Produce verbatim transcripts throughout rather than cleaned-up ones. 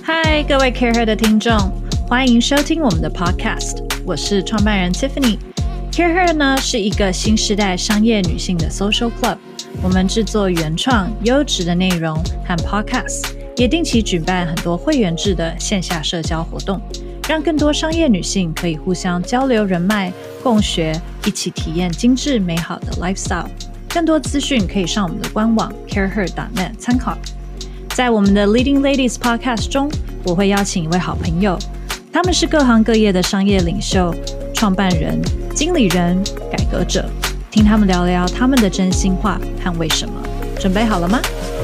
嗨，各位 CareHer 的听众，欢迎收听我们的 Podcast， 我是创办人 Tiffany。CareHer 呢是一个新时代商业女性的 Social Club， 我们制作原创优质的内容和 Podcast， 也定期举办很多会员制的线下社交活动，让更多商业女性可以互相交流人脉、共学，一起体验精致美好的 lifestyle。更多资讯可以上我们的官网 careher dot net 参考。在我们的 Leading Ladies Podcast 中，我会邀请一位好朋友，他们是各行各业的商业领袖、创办人、经理人、改革者，听他们聊聊他们的真心话和为什么。准备好了吗？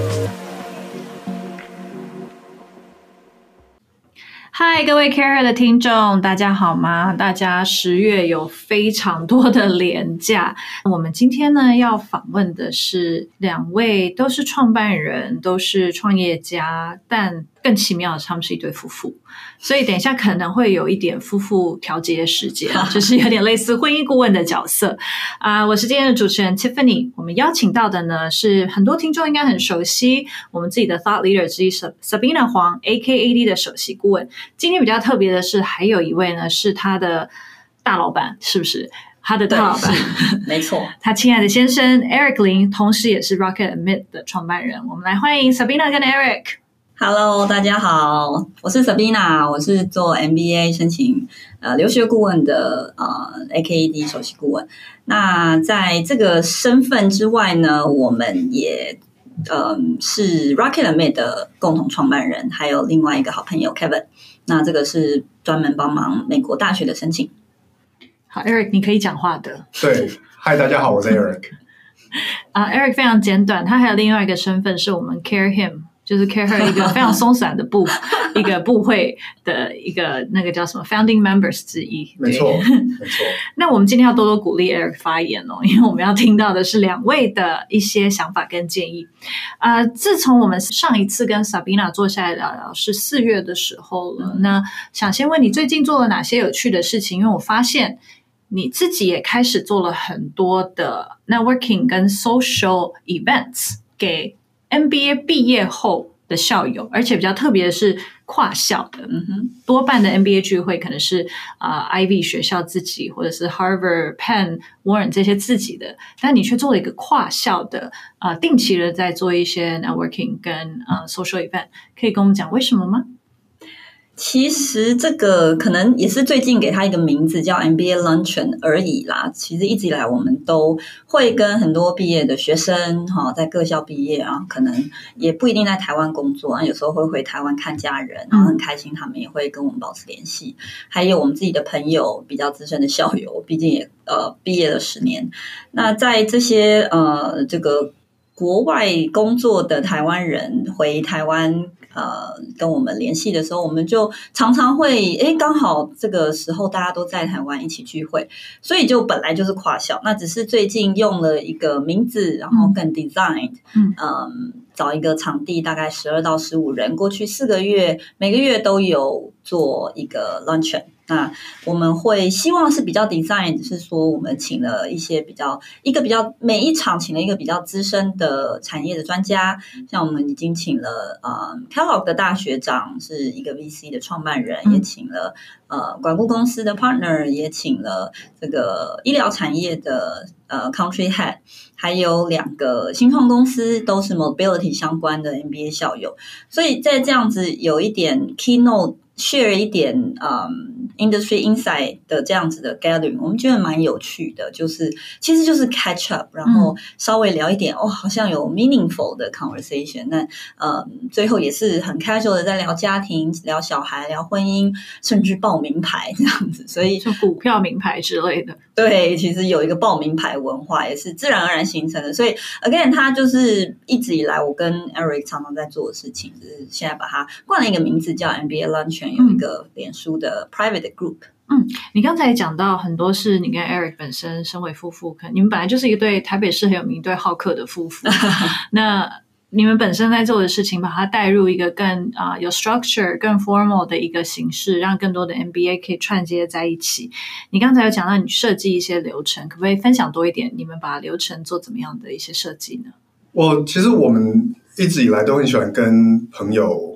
嗨，各位 CareHer 的听众，大家好吗？大家十月有非常多的连假。我们今天呢要访问的是两位都是创办人，都是创业家，但更奇妙的是他们是一对夫妇，所以等一下可能会有一点夫妇调节时间，就是有点类似婚姻顾问的角色啊、呃。我是今天的主持人 Tiffany， 我们邀请到的呢是很多听众应该很熟悉，我们自己的 Thought Leader 之一 Sabina 黄 A K A D 的首席顾问。今天比较特别的是，还有一位呢是他的大老板，是不是？他的大老板， 没错， 他亲爱的先生 Eric 林，同时也是 Rocket Admit 的创办人。我们来欢迎 Sabina 跟 Eric。Hello， 大家好，我是 Sabina， 我是做 M B A 申请呃留学顾问的呃 A K A D 首席顾问。那在这个身份之外呢，我们也呃是 Rocket Admit 的共同创办人，还有另外一个好朋友 Kevin。那这个是专门帮忙美国大学的申请。 好 ，Eric， 你可以讲话的。 对，嗨，大家好，我是 Eric。 啊、uh, ，Eric 非常简短，他还有另外一个身份是我们 Care Him。就是 CareHer 一个非常松散的部一个部会的一个那个叫什么 Founding Members 之一。 没错，没错。 那我们今天要多多鼓励 Eric 发言哦，因为我们要听到的是两位的一些想法跟建议。呃，自从我们上一次跟 Sabina 坐下来聊聊是四月的时候了，嗯、那想先问你最近做了哪些有趣的事情？因为我发现你自己也开始做了很多的 networking 跟 social events 给M B A 毕业后的校友，而且比较特别的是跨校的，嗯哼，多半的 M B A 聚会可能是啊、呃、Ivy 学校自己，或者是 Harvard、Penn、Warren 这些自己的，但你却做了一个跨校的，啊、呃，定期的在做一些 networking 跟呃 social event， 可以跟我们讲为什么吗？ 其实这个可能也是最近给他一个名字叫 M B A Luncheon 而已啦。其实一直以来我们都会跟很多毕业的学生哈，在各校毕业啊，可能也不一定在台湾工作，有时候会回台湾看家人，然后很开心他们也会跟我们保持联系。还有我们自己的朋友，比较资深的校友，毕竟也呃毕业了十年。那在这些呃这个国外工作的台湾人回台湾呃，跟我们联系的时候，我们就常常会，诶，刚好这个时候大家都在台湾一起聚会，所以就本来就是跨校，那只是最近用了一个名字，然后更 designed， 嗯，嗯，找一个场地，大概十二到十五人，过去四个月，每个月都有做一个 luncheon。那我们会希望是比较 design， 是说我们请了一些比较一个比较每一场请了一个比较资深的产业的专家，像我们已经请了呃 Kellogg 的大学长是一个 V C 的创办人，嗯、也请了呃管顾公司的 partner， 也请了这个医疗产业的呃 country head， 还有两个新创公司都是 mobility 相关的 M B A 校友，所以在这样子有一点 keynote。share 一点嗯 industry insight 的这样子的 gathering， 我们觉得蛮有趣的，就是其实就是 catch up， 然后稍微聊一点、嗯、哦，好像有 meaningful 的 conversation。那呃最后也是很 casual 的在聊家庭、聊小孩、聊婚姻，甚至报名牌这样子，所以就股票名牌之类的。 对，其实有一个报名牌文化也是自然而然形成的，所以 again 它就是一直以来我跟 Eric 常常在做的事情，就是现在把它冠了一个名字叫 M B A Luncheon， 有一个脸书的 private group。 嗯，你刚才也讲到很多是你跟 Eric 本身身为夫妇，可能你们本来就是一对台北市很有名一对好客的夫妇，那你们本身在做的事情，把它带入一个更啊、呃、有 structure、更 formal 的一个形式，让更多的 M B A 可以串接在一起。你刚才有讲到你设计一些流程，可不可以分享多一点？你们把流程做怎么样的一些设计呢？ 我其实我们一直以来都很喜欢跟朋友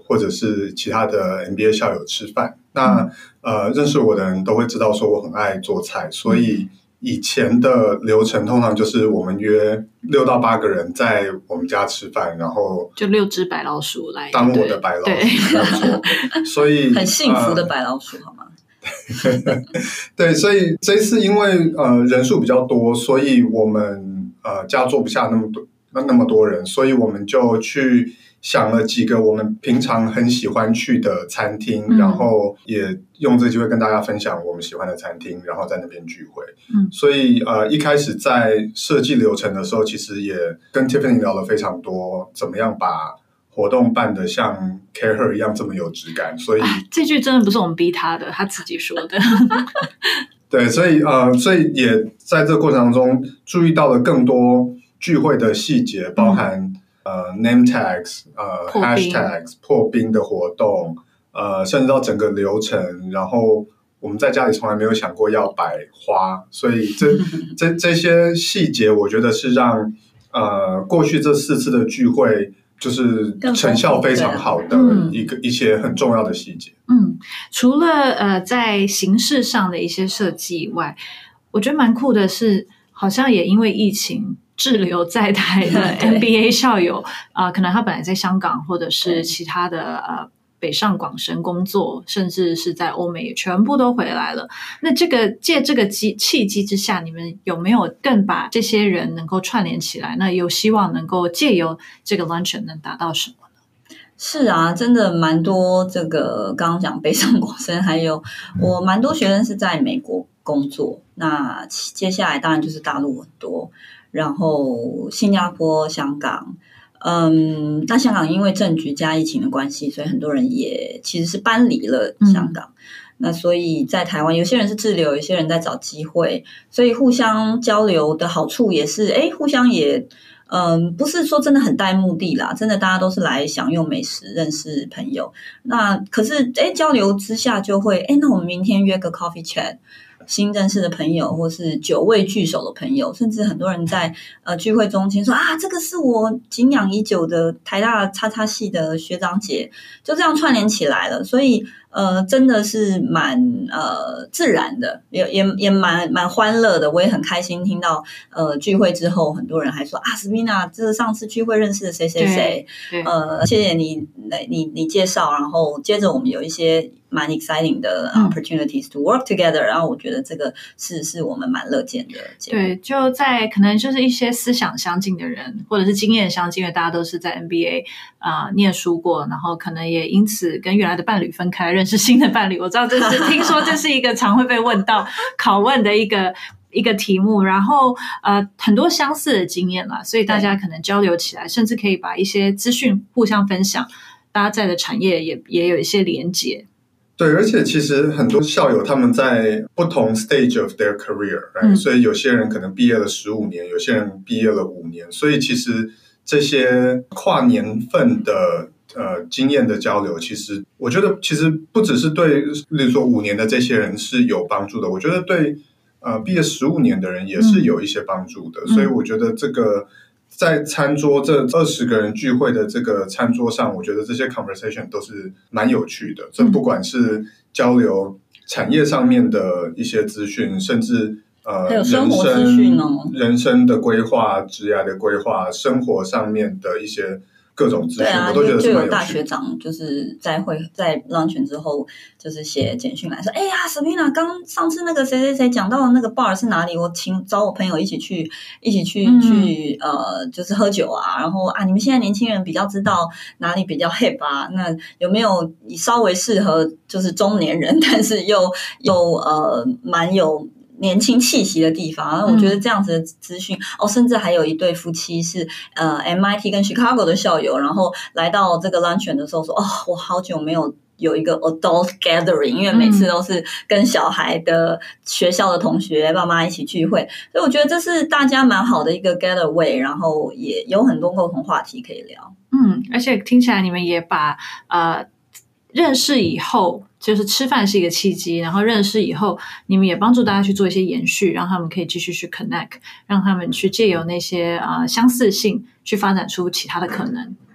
或者是其他的 M B A 校友吃饭。那呃，认识我的人都会知道说我很爱做菜，所以以前的流程通常就是我们约六到八个人在我们家吃饭，然后就六只白老鼠来当我的白老鼠，没有错。所以很幸福的白老鼠，呃、好吗？ 对，所以这次因为呃人数比较多，所以我们呃家坐不下那么多那那么多人，所以我们就去想了几个我们平常很喜欢去的餐厅，嗯、然后也用这个机会跟大家分享我们喜欢的餐厅，然后在那边聚会。嗯，所以呃一开始在设计流程的时候，其实也跟 Tiffany 聊了非常多，怎么样把活动办得像 Care Her 一样这么有质感。所以、啊、 这句真的不是我们逼他的，他自己说的。 对，所以呃，所以也在这个过程当中注意到了更多聚会的细节，包含、嗯、呃 name tags 呃 hashtags 破冰的活动，呃，甚至到整个流程。然后我们在家里从来没有想过要摆花，所以这这这些细节，我觉得是让呃过去这四次的聚会就是成效非常好的一个、嗯、一些很重要的细节。 嗯，除了呃在形式上的一些设计以外，我觉得蛮酷的是，好像也因为疫情滞留在台的 M B A 校友啊、呃，可能他本来在香港或者是其他的呃北上广深工作，甚至是在欧美也全部都回来了。那这个借这个机契机之下，你们有没有更把这些人能够串联起来？那有希望能够借由这个 luncheon 能达到什么？ 是啊，真的蛮多这个刚刚讲北上广深，还有我蛮多学生是在美国工作，那接下来当然就是大陆很多，然后新加坡、香港，嗯，那香港因为政局加疫情的关系，所以很多人也其实是搬离了香港。嗯，那所以在台湾有些人是滞留，有些人在找机会，所以互相交流的好处也是，诶，互相也嗯，不是说真的很带目的啦，真的大家都是来享用美食，认识朋友。那可是诶交流之下就会，诶那我们明天约个 coffee chat， 新认识的朋友或是久未聚首的朋友，甚至很多人在呃聚会中间说啊，这个是我敬仰已久的台大叉叉系的学长姐，就这样串联起来了。所以呃，真的是蛮呃自然的，也也也蛮蛮欢乐的。我也很开心听到呃聚会之后，很多人还说啊 ，Sabina， 这是上次聚会认识的谁谁谁，呃，谢谢你你你介绍，然后接着我们有一些蛮 exciting 的 opportunities to work together，嗯、然后我觉得这个是是我们蛮乐见的结果。 对，就在可能就是一些思想相近的人，或者是经验相近的，大家都是在 M B A 啊、呃、念书过，然后可能也因此跟原来的伴侣分开，认识新的伴侣。我知道这是听说这是一个常会被问到拷问的一个一个题目，然后呃很多相似的经验啦，所以大家可能交流起来，甚至可以把一些资讯互相分享，大家在的产业也也有一些连结。 对，而且其实很多校友他们在不同 stage of their career，right？嗯，所以有些人可能毕业了十五年，有些人毕业了五年，所以其实这些跨年份的呃经验的交流，其实我觉得其实不只是对，例如说五年的这些人是有帮助的，我觉得对呃毕业十五年的人也是有一些帮助的，嗯，所以我觉得这个在餐桌这二十个人聚会的这个餐桌上，我觉得这些 conversation 都是蛮有趣的。这不管是交流产业上面的一些资讯，甚至呃还有生活资讯哦， 人生的规划、职业的规划、生活上面的一些各种资讯， 啊， 我都觉得是蛮有趣的。 就有大学长就是在会在 luncheon 之后，就是写简讯来说，哎呀 ，Sabina， 刚上次那个谁谁谁讲到的那个 bar 是哪里？我请找我朋友一起去，一起去、嗯、去呃，就是喝酒啊。然后啊，你们现在年轻人比较知道哪里比较 hip 啊？那有没有稍微适合就是中年人，但是又又呃蛮有年轻气息的地方，我觉得这样子的资讯、嗯、哦，甚至还有一对夫妻是呃 M I T 跟 Chicago 的校友，然后来到这个 luncheon 的时候说，哦，我好久没有有一个 adult gathering， 因为每次都是跟小孩的学校的同学爸妈一起聚会，所以我觉得这是大家蛮好的一个 getaway， 然后也有很多共同话题可以聊。 嗯，而且听起来你们也把呃认识以后，就是吃饭是一个契机，然后认识以后你们也帮助大家去做一些延续，让他们可以继续去 connect， 让他们去借由那些、呃、相似性去发展出其他的可能。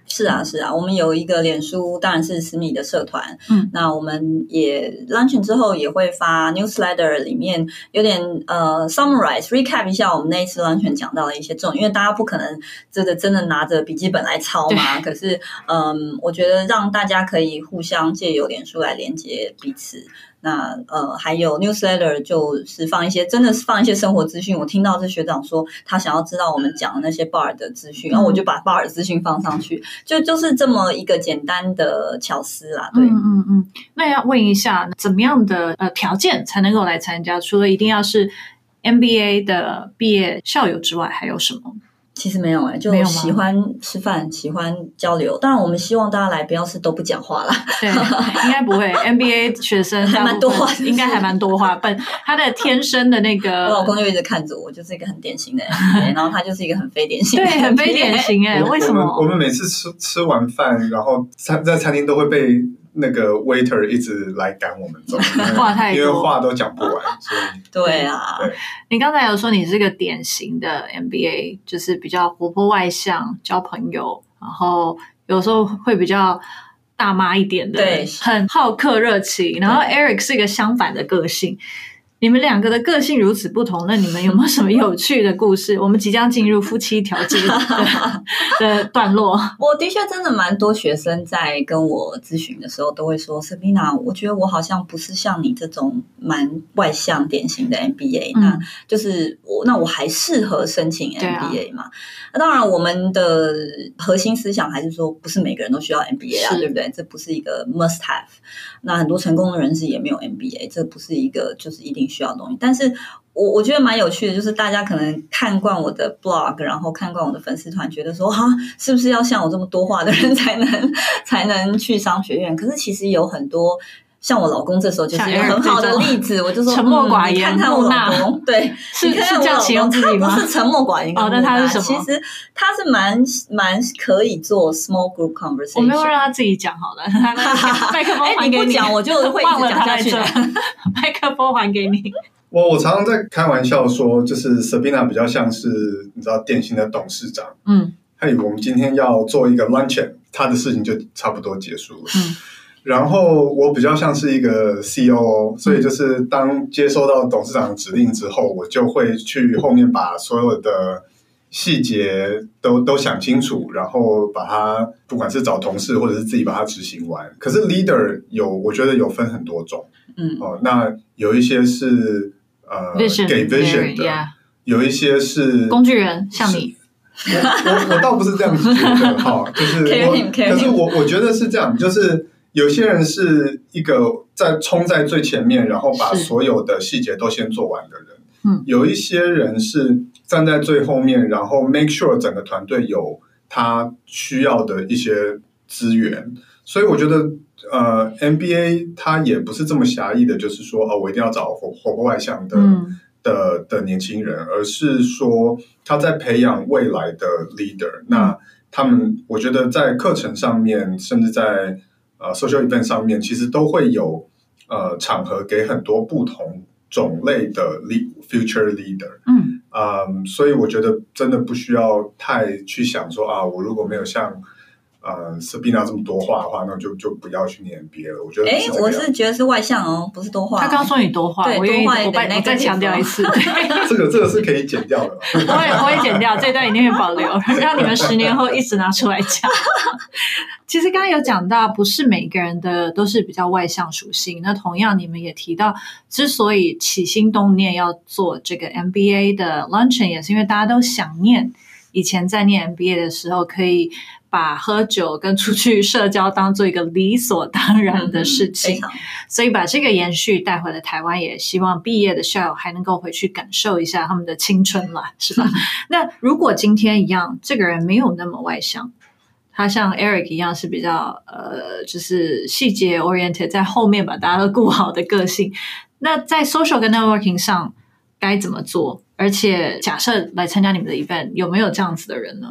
是啊是啊，我们有一个脸书当然是私密的社团， 嗯， 那我们也 launch 之后也会发 newsletter， 里面有点呃 summarize recap 一下我们那一次 launch 讲到的一些重点，因为大家不可能真的真的拿着笔记本来抄嘛，可是嗯，我觉得让大家可以互相借由脸书来连接彼此。那呃，还有 newsletter 就是放一些真的是放一些生活资讯。我听到这学长说他想要知道我们讲的那些 bar 的资讯，然后我就把 bar 的资讯放上去，就就是这么一个简单的巧思啦。对， 嗯嗯嗯。那要问一下，怎么样的呃条件才能够来参加？除了一定要是 M B A 的毕业校友之外，还有什么？ 其实没有哎、欸，就喜欢吃饭，喜欢交流。当然，我们希望大家来不要是都不讲话啦。 对，应该不会。M B A 学生还蛮多话， 应该还蛮多话。本他的天生的那个， 我老公就一直看着我，就是一个很典型的 M B A， 然后他就是一个很非典型的 M B A， 对，很非典型哎、欸。为什么？ 我们我们每次吃吃完饭，然后餐在餐厅都会被那个 waiter 一直来赶我们走， 话太多， 因为话都讲不完，所以对啊。 对， 你刚才有说你是个典型的 M B A， 就是比较活泼外向，交朋友，然后有时候会比较大妈一点的， 对， 很好客热情。然后 Eric 是一个相反的个性。你们两个的个性如此不同，那你们有没有什么有趣的故事？我们即将进入夫妻调解 的, 的段落。 我的确真的蛮多学生在跟我咨询的时候都会说 Sabina， 我觉得我好像不是像你这种蛮外向典型的 M B A，、嗯、那就是我那我还适合申请 M B A 嘛？那、啊、当然我们的核心思想还是说不是每个人都需要 M B A 啊，对不对？这不是一个 must have。那很多成功的人士也没有 M B A， 这不是一个就是一定需要的东西。但是我我觉得蛮有趣的，就是大家可能看惯我的 blog， 然后看惯我的粉丝团，觉得说哈，是不是要像我这么多话的人才能才能去商学院？可是其实有很多。像我老公这时候就是一个很好的例子，我就说沉默寡言， 嗯、你看看我老公，对， 是你看看是这样形容自己吗？ 他不是沉默寡言， 哦，那他是什么？ 其实他是蛮蛮可以做 small group conversation。 我没有让他自己讲好了，麦克风还给你， 哎、你不讲我就会一直讲下去。 麦克风还给你。 我我常常在开玩笑说，就是 Sabina 比较像是你知道典型的董事长， 嗯， 嘿，我们今天要做一个 luncheon， 他的事情就差不多结束了， 嗯。 然后我比较像是一个 C O O， 所以就是当接收到董事长的指令之后，我就会去后面把所有的细节都都想清楚，然后把它不管是找同事或者是自己把它执行完。可是 leader 有，我觉得有分很多种， 嗯， 哦，那有一些是呃 vision, 给 vision 的， yeah. 有一些是工具人，像你。 我我我倒不是这样觉得哈，就是我，可是我我觉得是这样，就是有些人是一个在冲在最前面，然后把所有的细节都先做完的人。 嗯， 有一些人是站在最后面，然后 make sure 整个团队有他需要的一些资源。所以我觉得，呃 ，M B A 它也不是这么狭义的，就是说，哦，我一定要找活活泼外向的。嗯的, 的年轻人，而是说他在培养未来的 leader、嗯、那他们我觉得在课程上面甚至在、呃、social event 上面其实都会有、呃、场合给很多不同种类的 lead, future leader 嗯、 呃、所以我觉得真的不需要太去想说啊，我如果没有像呃 Sabina 这么多话的话，那就就不要去念 M B A 了。我觉得，哎， 我是觉得是外向哦，不是多话、哦。 他刚说你多话，我愿意，我我再强调一次。 这个这个是可以剪掉的。 我也我会剪掉，这段一定会保留，让你们十年后一直拿出来讲。其实刚刚有讲到，不是每个人的都是比较外向属性。那同样，你们也提到，之所以起心动念要做这个 M B A 的 luncheon， 也是因为大家都想念以前在念 M B A 的时候可以。把喝酒跟出去社交当做一个理所当然的事情、嗯、所以把这个延续带回了台湾，也希望毕业的校友还能够回去感受一下他们的青春啦，是吧、嗯、那如果今天一样这个人没有那么外向，他像 Eric 一样是比较呃，就是细节 oriented， 在后面把大家都顾好的个性，那在 social 跟 networking 上该怎么做？而且假设来参加你们的 event， 有没有这样子的人呢？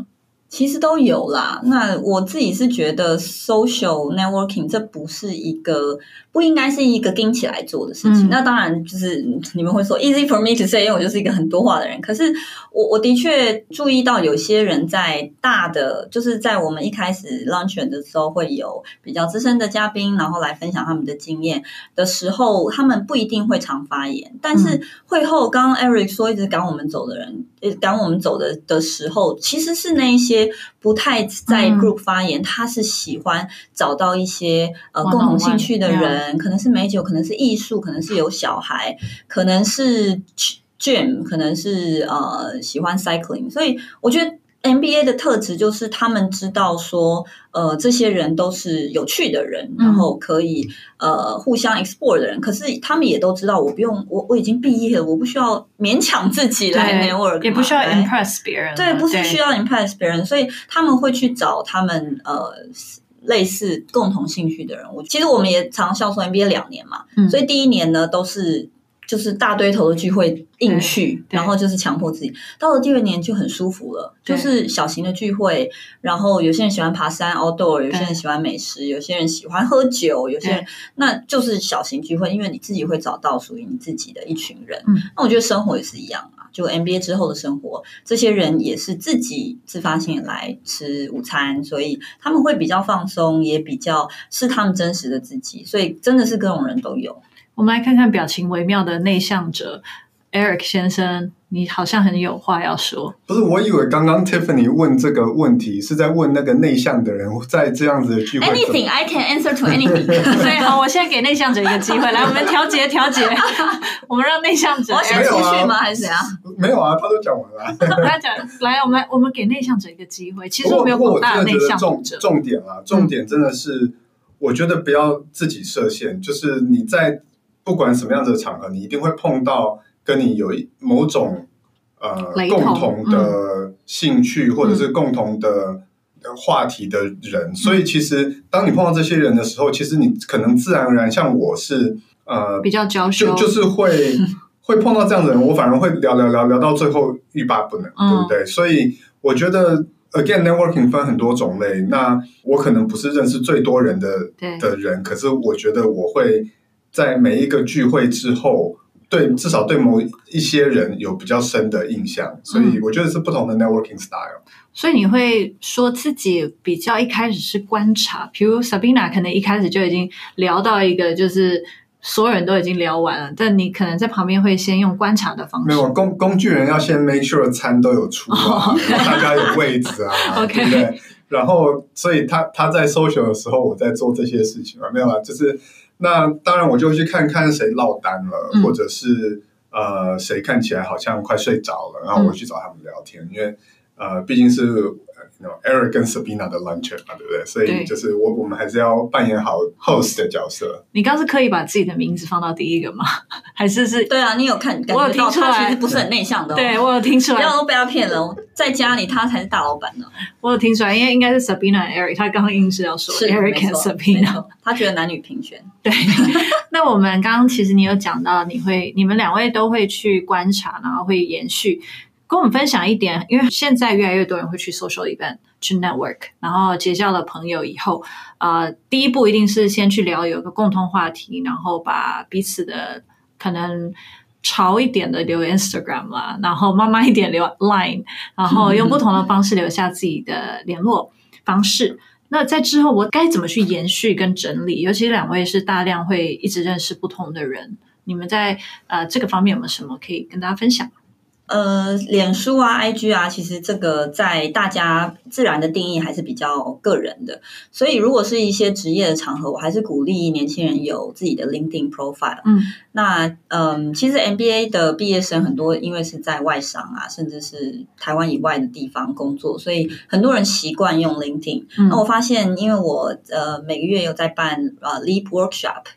其实都有啦。那我自己是觉得 social networking 这不是一个不应该是一个盯起来做的事情、嗯、那当然就是你们会说 easy for me to say 因为我就是一个很多话的人，可是我我的确注意到有些人在大的就是在我们一开始 luncheon 的时候会有比较资深的嘉宾然后来分享他们的经验的时候，他们不一定会常发言，但是会后刚刚 Eric 说一直赶我们走的人赶我们走的的时候，其实是那一些不太在 group 发言、嗯、他是喜欢找到一些呃共同兴趣的人，可能是美酒，可能是艺术，可能是有小孩，可能是 gym， 可能是呃喜欢 cycling。 所以我觉得 M B A 的特质就是他们知道说呃这些人都是有趣的人、嗯、然后可以呃互相 explore 的人，可是他们也都知道我不用我我已经毕业了，我不需要勉强自己来 network， 也不需要 impress 别人， 对，不是需要 impress 别人，所以他们会去找他们呃类似共同兴趣的人。我其实我们也常校说 M B A 两年嘛、嗯、所以第一年呢都是就是大堆头的聚会硬去，然后就是强迫自己，到了第二年就很舒服了，就是小型的聚会，然后有些人喜欢爬山 outdoor， 有些人喜欢美食，有些人喜欢喝酒，有些人那就是小型聚会，因为你自己会找到属于你自己的一群人、嗯、那我觉得生活也是一样啊，就 M B A 之后的生活，这些人也是自己自发性来吃午餐，所以他们会比较放松，也比较是他们真实的自己，所以真的是各种人都有。 我们来看看表情微妙的内向者 Eric 先生，你好像很有话要说。 不是，我以为刚刚 Tiffany 问这个问题是在问那个内向的人在这样子的聚会 Anything I can answer to anything 对，好，我现在给内向者一个机会，来我们调节调节我们让内向者我想继续吗、啊、还是怎样？ 没有啊，他都讲完了他讲来我们我们给内向者一个机会。其实我们有广大的内向者， 重点啊，重点真的是、嗯、我觉得不要自己设限，就是你在不管什么样子的场合，你一定会碰到跟你有某种呃共同的兴趣、嗯、或者是共同的话题的人、嗯、所以其实当你碰到这些人的时候，其实你可能自然而然，像我是呃比较娇羞， 就就是会会碰到这样的人，我反而会聊聊聊聊到最后欲罢不能、嗯、对不对？所以我觉得Again, networking 分很多种类，那我可能不是认识最多人的的人，可是我觉得我会在每一个聚会之后，对至少对某一些人有比较深的印象，所以我觉得是不同的 networking style。 所以你会说自己比较一开始是观察，比如 Sabina 可能一开始就已经聊到一个就是所有人都已经聊完了，但你可能在旁边会先用观察的方式。 没有，工工具人要先 make sure 餐都有出啊， oh, okay. 然后大家有位置啊，okay. 对不对？然后所以他他在 social 的时候，我在做这些事情嘛，没有啊，就是那当然我就去看看谁落单了，嗯、或者是呃谁看起来好像快睡着了，然后我去找他们聊天，嗯、因为呃毕竟是You know, Eric 跟 Sabina 的 luncheon 嘛，对不对？所以就是我我们还是要扮演好 host 的角色。 你刚是刻意把自己的名字放到第一个吗？还是是？ 对啊，你有看感觉到他其实不是很内向的、哦。 对，我有听出来，不要都被他骗了。在家里他才是大老板呢。 我有听出来，因为应该是 Sabina 和 Eric， 他刚刚硬是要说 Eric 和 Sabina， 他觉得男女平权。 对，那我们刚刚其实你有讲到，你会你们两位都会去观察，然后会延续。跟我们分享一点，因为现在越来越多人会去 social event 去 network， 然后结交了朋友以后，呃，第一步一定是先去聊有一个共同话题，然后把彼此的可能潮一点的留 Instagram 啦，然后慢慢一点留 Line， 然后用不同的方式留下自己的联络方式。那在之后我该怎么去延续跟整理？尤其两位是大量会一直认识不同的人，你们在呃这个方面有没有什么可以跟大家分享？ 呃，脸书啊 I G 啊，其实这个在大家自然的定义还是比较个人的，所以如果是一些职业的场合，我还是鼓励年轻人有自己的 LinkedIn profile。嗯，那嗯，其实 M B A 的毕业生很多，因为是在外商啊，甚至是台湾以外的地方工作，所以很多人习惯用 LinkedIn。嗯，那我发现，因为我呃每个月有在办呃 Leap Workshop。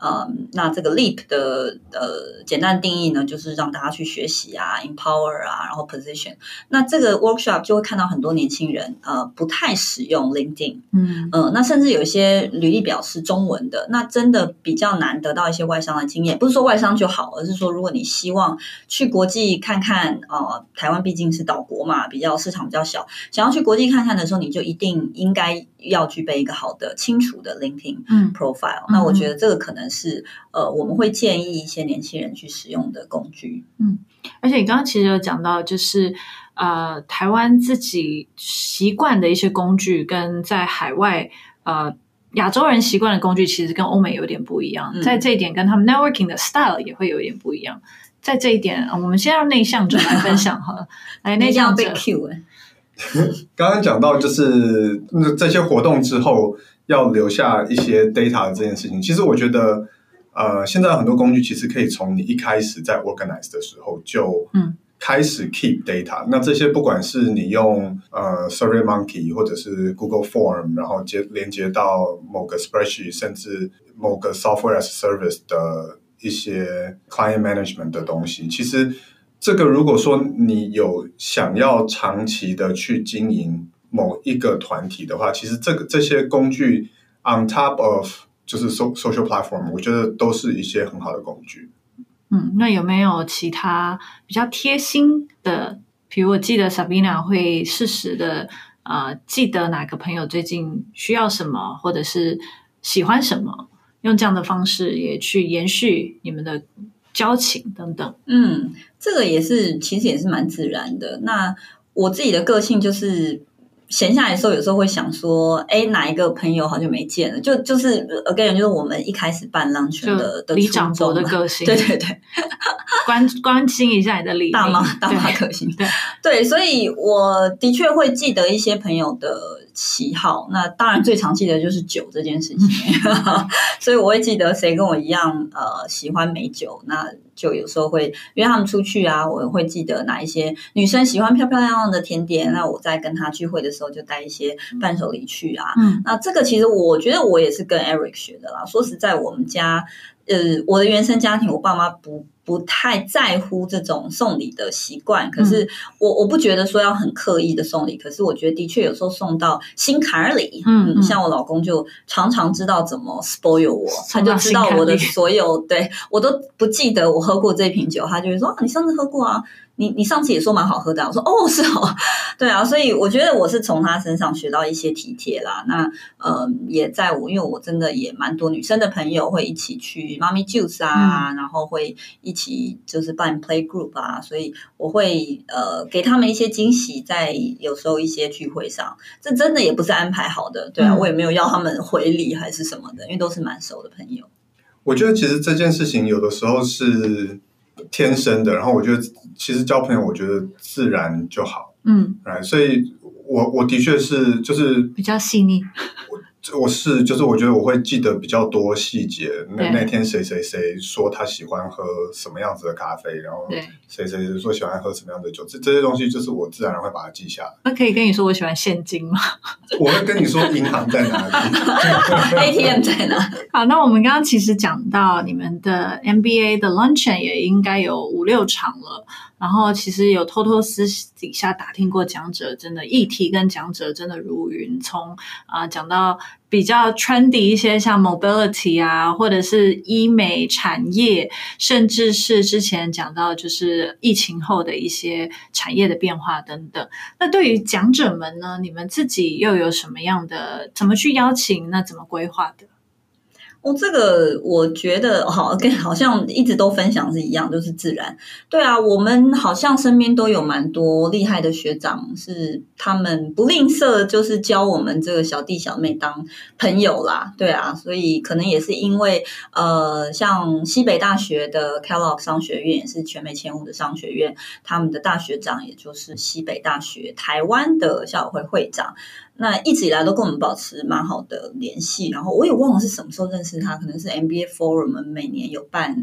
嗯，那这个 leap 的呃简单定义呢，就是让大家去学习啊 empower 啊，然后 position。那这个 workshop 就会看到很多年轻人呃不太使用 LinkedIn， 嗯呃，那甚至有一些履历表是中文的，那真的比较难得到一些外商的经验。不是说外商就好，而是说如果你希望去国际看看，呃，台湾毕竟是岛国嘛，比较市场比较小，想要去国际看看的时候，你就一定应该要具备一个好的清楚的 LinkedIn profile。嗯、那我觉得这个可能是呃我们会建议一些年轻人去使用的工具。 嗯，而且你刚刚其实有讲到，就是呃台湾自己习惯的一些工具，跟在海外呃亚洲人习惯的工具，其实跟欧美有点不一样。嗯、在这一点，跟他们 networking 的 style 也会有点不一样。在这一点，我们先让内向者来分享好了。来，内向者。 被 Q 哎。 刚刚讲到就是这些活动之后要留下一些 data 的这件事情，其实我觉得呃，现在有很多工具其实可以从你一开始在 organize 的时候就开始 keep data、嗯、那这些不管是你用呃 SurveyMonkey 或者是 Google Form 然后接连接到某个 spreadsheet 甚至某个 software as service 的一些 client management 的东西，其实这个如果说你有想要长期的去经营某一个团体的话，其实这个这些工具 on top of 就是 social platform， 我觉得都是一些很好的工具。 嗯，那有没有其他比较贴心的？比如我记得 Sabina 会适时的呃记得哪个朋友最近需要什么，或者是喜欢什么，用这样的方式也去延续你们的交情等等。 嗯，这个也是其实也是蛮自然的。那我自己的个性就是闲下来的时候有时候会想说，哎，哪一个朋友好久没见了，就就是 again 就是我们一开始办 lunch 的的李长博的个性。 对对对， 关关心一下你的理大妈大妈个性。 对对，所以我的确会记得一些朋友的喜好，那当然最常记得就是酒这件事情所以我会记得谁跟我一样呃喜欢美酒，那就有时候会约他们出去啊，我会记得哪一些女生喜欢漂漂亮亮的甜点，那我在跟她聚会的时候就带一些伴手礼去啊。嗯，那这个其实我觉得我也是跟 Eric 学的啦。说实在，我们家呃我的原生家庭，我爸妈不不太在乎这种送礼的习惯，可是我、嗯、我不觉得说要很刻意的送礼，可是我觉得的确有时候送到心坎里，嗯, 嗯，像我老公就常常知道怎么 spoil 我，他就知道我的所有，对，我都不记得我喝过这瓶酒，他就会说啊，你上次喝过啊，你你上次也说蛮好喝的、啊，我说哦是哦，对啊，所以我觉得我是从他身上学到一些体贴啦。那呃也在我因为我真的也蛮多女生的朋友会一起去妈咪 juice 啊、嗯，然后会一起就是办 play group 啊，所以我会呃给他们一些惊喜，在有时候一些聚会上，这真的也不是安排好的，对啊，嗯、我也没有要他们回礼还是什么的，因为都是蛮熟的朋友。 我觉得其实这件事情有的时候是天生的，然后我觉得其实交朋友我觉得自然就好，嗯，所以我我的确是就是比较细腻， 我我是就是我觉得我会记得比较多细节，那那天谁谁谁说他喜欢喝什么样子的咖啡，然后谁谁谁说喜欢喝什么样的酒，这这些东西就是我自然会把它记下来。 那可以跟你说我喜欢现金吗？ 我会跟你说银行在哪里 A T M 在哪。 好，那我们刚刚其实讲到你们的 M B A 的 luncheon 也应该有五六场了，然后其实有偷偷私底下打听过讲者，真的议题跟讲者真的如云，从啊讲到比较 trendy 一些像 mobility 啊，或者是医美产业，甚至是之前讲到就是疫情后的一些产业的变化等等。那对于讲者们呢，你们自己又有什么样的怎么去邀请，那怎么规划的？ 哦，这个我觉得好，跟好像一直都分享是一样，就是自然。对啊，我们好像身边都有蛮多厉害的学长，是他们不吝啬，就是教我们这个小弟小妹当朋友啦。对啊，所以可能也是因为呃，像西北大学的 Kellogg 商学院也是全美前五的商学院，他们的大学长也就是西北大学台湾的校友会会长。那一直以来都跟我们保持蛮好的联系，然后我也忘了是什么时候认识他，可能是 M B A Forum 每年有办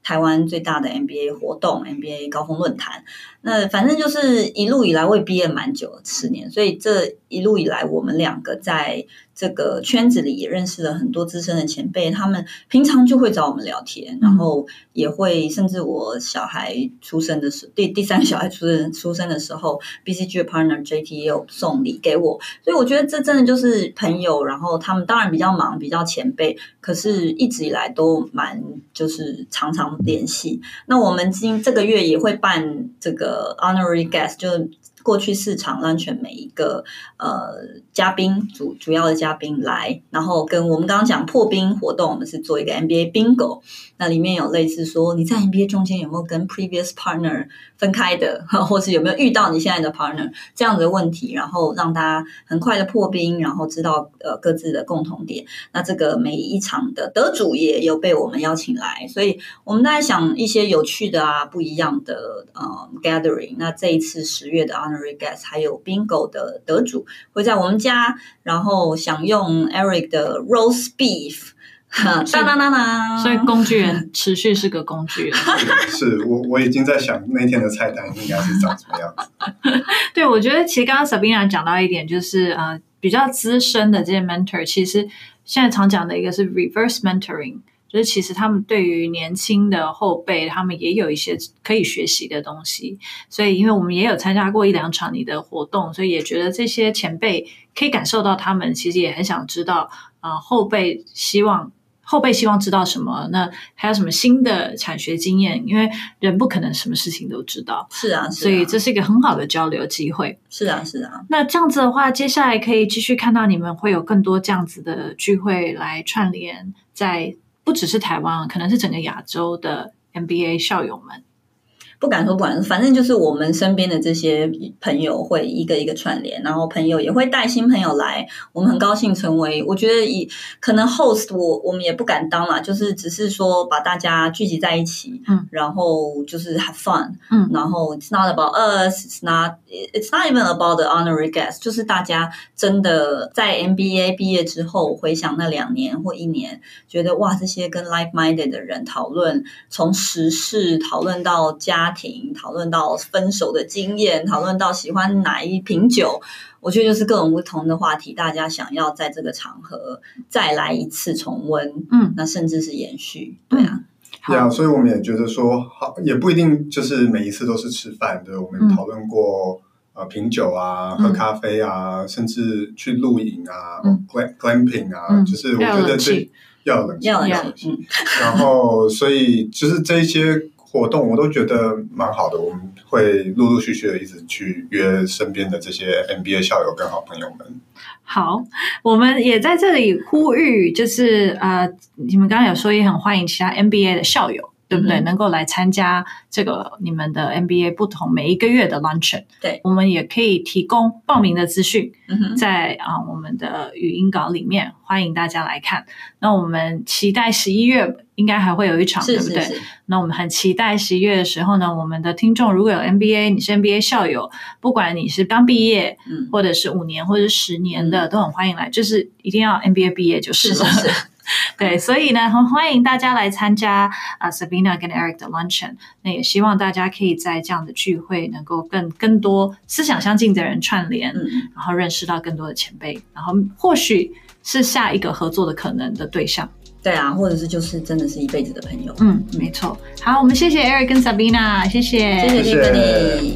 台湾最大的 M B A 活动 M B A 高峰论坛。那反正就是一路以来我也毕业蛮久了，十年，所以这一路以来我们两个在这个圈子里也认识了很多资深的前辈，他们平常就会找我们聊天，然后也会甚至我小孩出生的时候，第第三个小孩出生出生的时候 B C G 的 partner J T 也有送礼给我，所以我觉得这真的就是朋友，然后他们当然比较忙，比较前辈，可是一直以来都蛮就是常常联系。那我们今这个月也会办这个 honorary guest， 就是过去四场让全每一个呃嘉宾主主要的嘉宾来，然后跟我们刚刚讲破冰活动，我们是做一个 M B A bingo， 那里面有类似说你在 M B A 中间有没有跟 previous partner 分开的，或是有没有遇到你现在的 partner 这样的问题，然后让大家很快的破冰，然后知道呃各自的共同点。那这个每一场的得主也有被我们邀请来，所以我们在想一些有趣的啊不一样的呃 gathering。那这一次十月的 honorary guest 还有 bingo 的得主会在我们家，然后享用 Eric 的 roast beef。哒啦啦啦， 所以工具人持续是个工具人。 是我我已经在想那天的菜单应该是长什么样子。 对，我觉得其实刚刚 Sabina 讲到一点，就是呃比较资深的这些 mentor， 其实现在常讲的一个是 reverse mentoring， 就是其实他们对于年轻的后辈，他们也有一些可以学习的东西。所以因为我们也有参加过一两场你的活动，所以也觉得这些前辈可以感受到他们其实也很想知道呃后辈希望后辈希望知道什么，那还有什么新的产学经验，因为人不可能什么事情都知道。 是啊，是啊， 所以这是一个很好的交流机会。 是啊，是啊。 那这样子的话，接下来可以继续看到你们会有更多这样子的聚会来串联，在不只是台湾，可能是整个亚洲的 M B A 校友们。 不敢说不敢说，反正就是我们身边的这些朋友会一个一个串联，然后朋友也会带新朋友来，我们很高兴成为，我觉得以可能 host 我我们也不敢当啦，就是只是说把大家聚集在一起，嗯，然后就是 have fun， 嗯，然后 it's not about us, it's not it's not even about the honorary guest， 就是大家真的在 M B A 毕业之后回想那两年或一年，觉得哇，这些跟 like-minded 的人讨论，从时事讨论到家庭，讨论到分手的经验，讨论到喜欢哪一瓶酒，我觉得就是各种不同的话题，大家想要在这个场合再来一次重温，嗯，那甚至是延续，对啊。 对啊，所以我们也觉得说，好，也不一定就是每一次都是吃饭，对，我们讨论过、嗯、呃品酒啊，喝咖啡啊，嗯、甚至去露营啊、嗯、glamping 啊、嗯，就是我觉得这要冷静， 要冷静， 嗯，然后所以就是这些活动我都觉得蛮好的，我们会陆陆续续的一直去约身边的这些 M B A 校友跟好朋友们。 好，我们也在这里呼吁，就是呃，你们刚刚有说也很欢迎其他 M B A 的校友，对不对？嗯、能够来参加这个你们的 M B A 不同每一个月的 luncheon。对，我们也可以提供报名的资讯，嗯、在啊、呃、我们的语音稿里面，欢迎大家来看。那我们期待十一月应该还会有一场， 是对不对？ 是是。 那我们很期待十一月的时候呢，我们的听众如果有 M B A， 你是 M B A 校友，不管你是刚毕业，嗯，或者是五年或者是十年的，嗯、都很欢迎来，就是一定要 M B A 毕业就是了。 是是是。 对，所以呢，很欢迎大家来参加啊 Sabina 跟 Eric 的 luncheon。那也希望大家可以在这样的聚会能够跟更多思想相近的人串联，嗯、然后认识到更多的前辈，然后或许是下一个合作的可能的对象。 对啊，或者是就是真的是一辈子的朋友。 嗯，没错。好，我们谢谢 Eric 跟 Sabina， 谢谢， 谢谢 Tiffany。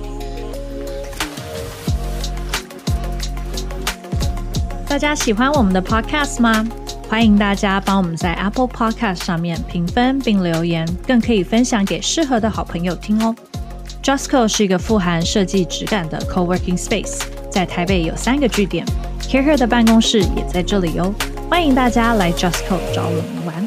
大家喜欢我们的 podcast 吗？欢迎大家帮我们在 Apple Podcast 上面评分并留言，更可以分享给适合的好朋友听哦。Justco 是一个富含设计质感的 coworking space， 在台北有三个据点 ，Care Her 的办公室也在这里哦。欢迎大家来 Justco 找我们玩。